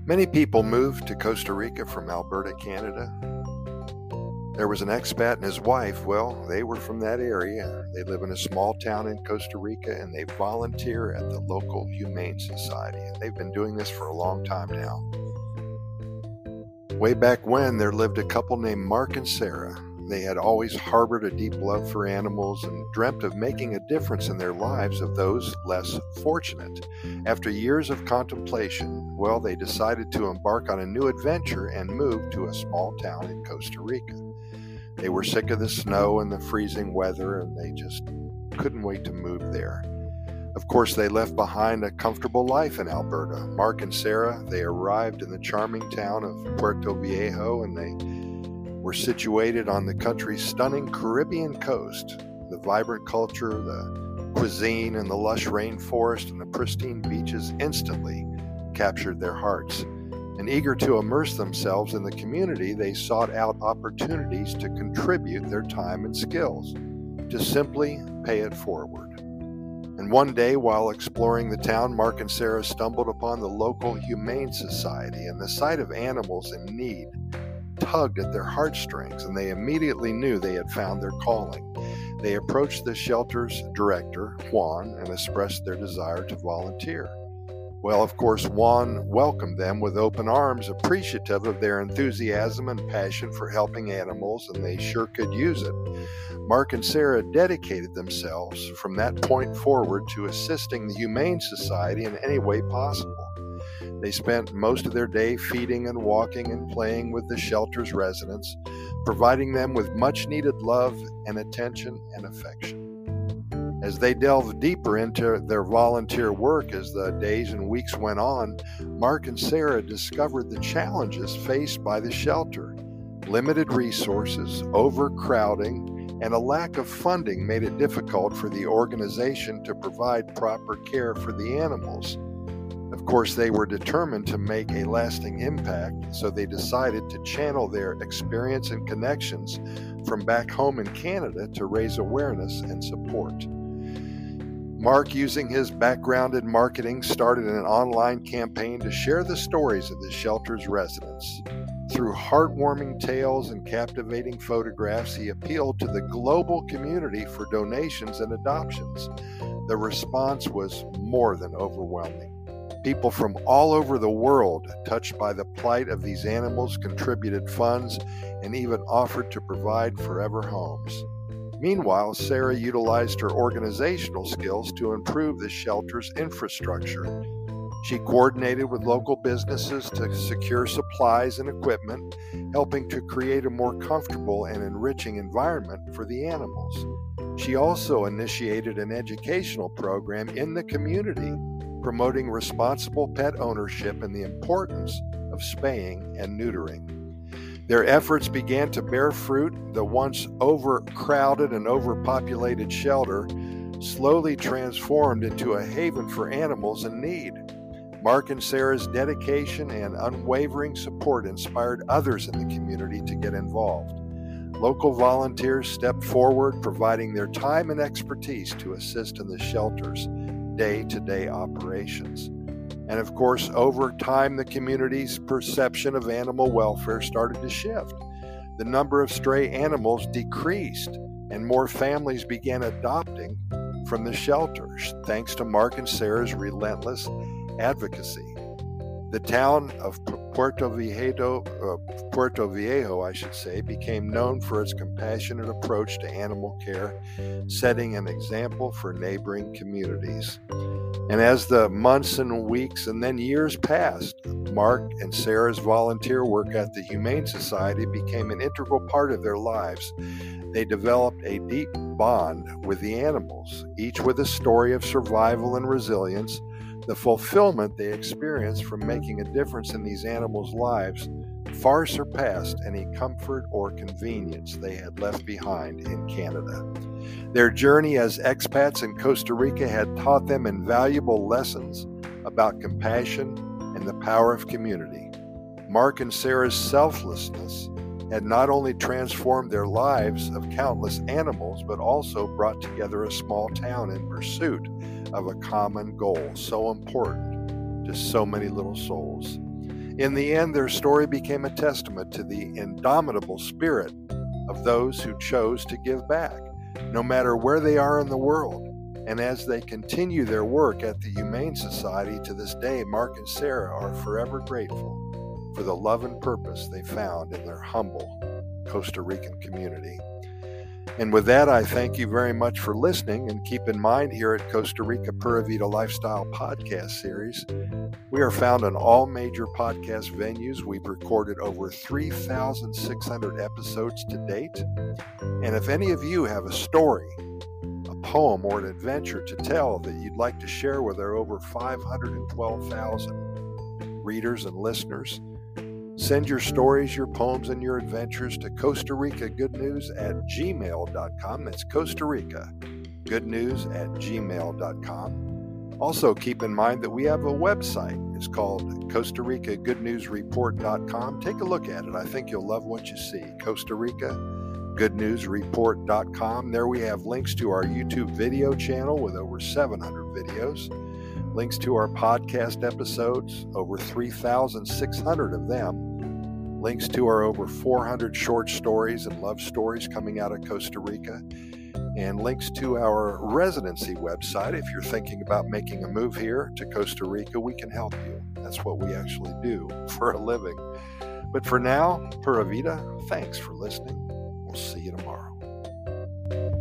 Many people moved to Costa Rica from Alberta, Canada. There was an expat and his wife. Well, they were from that area. They live in a small town in Costa Rica and they volunteer at the local Humane Society. And they've been doing this for a long time now. Way back when, there lived a couple named Mark and Sarah. They had always harbored a deep love for animals and dreamt of making a difference in their lives of those less fortunate. After years of contemplation, well, they decided to embark on a new adventure and move to a small town in Costa Rica. They were sick of the snow and the freezing weather, and they just couldn't wait to move there. Of course, they left behind a comfortable life in Alberta. Mark and Sarah, they arrived in the charming town of Puerto Viejo, and they were situated on the country's stunning Caribbean coast. The vibrant culture, the cuisine, and the lush rainforest and the pristine beaches instantly captured their hearts. And eager to immerse themselves in the community, they sought out opportunities to contribute their time and skills, to simply pay it forward. And one day, while exploring the town, Mark and Sarah stumbled upon the local Humane Society, and the sight of animals in need tugged at their heartstrings, and they immediately knew they had found their calling. They approached the shelter's director, Juan, and expressed their desire to volunteer. Well, of course, Juan welcomed them with open arms, appreciative of their enthusiasm and passion for helping animals, and they sure could use it. Mark and Sarah dedicated themselves from that point forward to assisting the Humane Society in any way possible. They spent most of their day feeding and walking and playing with the shelter's residents, providing them with much-needed love and attention and affection. As they delved deeper into their volunteer work as the days and weeks went on, Mark and Sarah discovered the challenges faced by the shelter. Limited resources, overcrowding, and a lack of funding made it difficult for the organization to provide proper care for the animals. Of course, they were determined to make a lasting impact, so they decided to channel their experience and connections from back home in Canada to raise awareness and support. Mark, using his background in marketing, started an online campaign to share the stories of the shelter's residents. Through heartwarming tales and captivating photographs, he appealed to the global community for donations and adoptions. The response was more than overwhelming. People from all over the world, touched by the plight of these animals, contributed funds and even offered to provide forever homes. Meanwhile, Sarah utilized her organizational skills to improve the shelter's infrastructure. She coordinated with local businesses to secure supplies and equipment, helping to create a more comfortable and enriching environment for the animals. She also initiated an educational program in the community, promoting responsible pet ownership and the importance of spaying and neutering. Their efforts began to bear fruit. The once overcrowded and overpopulated shelter slowly transformed into a haven for animals in need. Mark and Sarah's dedication and unwavering support inspired others in the community to get involved. Local volunteers stepped forward, providing their time and expertise to assist in the shelter's day-to-day operations. And of course, over time, the community's perception of animal welfare started to shift. The number of stray animals decreased, and more families began adopting from the shelters, thanks to Mark and Sarah's relentless advocacy. The town of Puerto Viejo, became known for its compassionate approach to animal care, setting an example for neighboring communities. And as the months and weeks and then years passed, Mark and Sarah's volunteer work at the Humane Society became an integral part of their lives. They developed a deep bond with the animals, each with a story of survival and resilience. The fulfillment they experienced from making a difference in these animals' lives far surpassed any comfort or convenience they had left behind in Canada. Their journey as expats in Costa Rica had taught them invaluable lessons about compassion and the power of community. Mark and Sarah's selflessness had not only transformed their lives of countless animals, but also brought together a small town in pursuit of a common goal so important to so many little souls. In the end, their story became a testament to the indomitable spirit of those who chose to give back, no matter where they are in the world. And as they continue their work at the Humane Society to this day, Mark and Sarah are forever grateful for the love and purpose they found in their humble Costa Rican community. And with that, I thank you very much for listening, and keep in mind here at Costa Rica Pura Vida Lifestyle Podcast Series, we are found on all major podcast venues. We've recorded over 3,600 episodes to date. And if any of you have a story, a poem, or an adventure to tell that you'd like to share with our over 512,000 readers and listeners, send your stories, your poems, and your adventures to Costa Rica Good News at gmail.com. That's Costa Rica Good News at gmail.com. Also, keep in mind that we have a website. It's called Costa Rica Good News Report.com. Take a look at it. I think you'll love what you see. Costa Rica Good News Report.com. There we have links to our YouTube video channel with over 700 videos, links to our podcast episodes, over 3,600 of them, links to our over 400 short stories and love stories coming out of Costa Rica, and links to our residency website. If you're thinking about making a move here to Costa Rica, we can help you. That's what we actually do for a living. But for now, Pura Vida, thanks for listening. We'll see you tomorrow.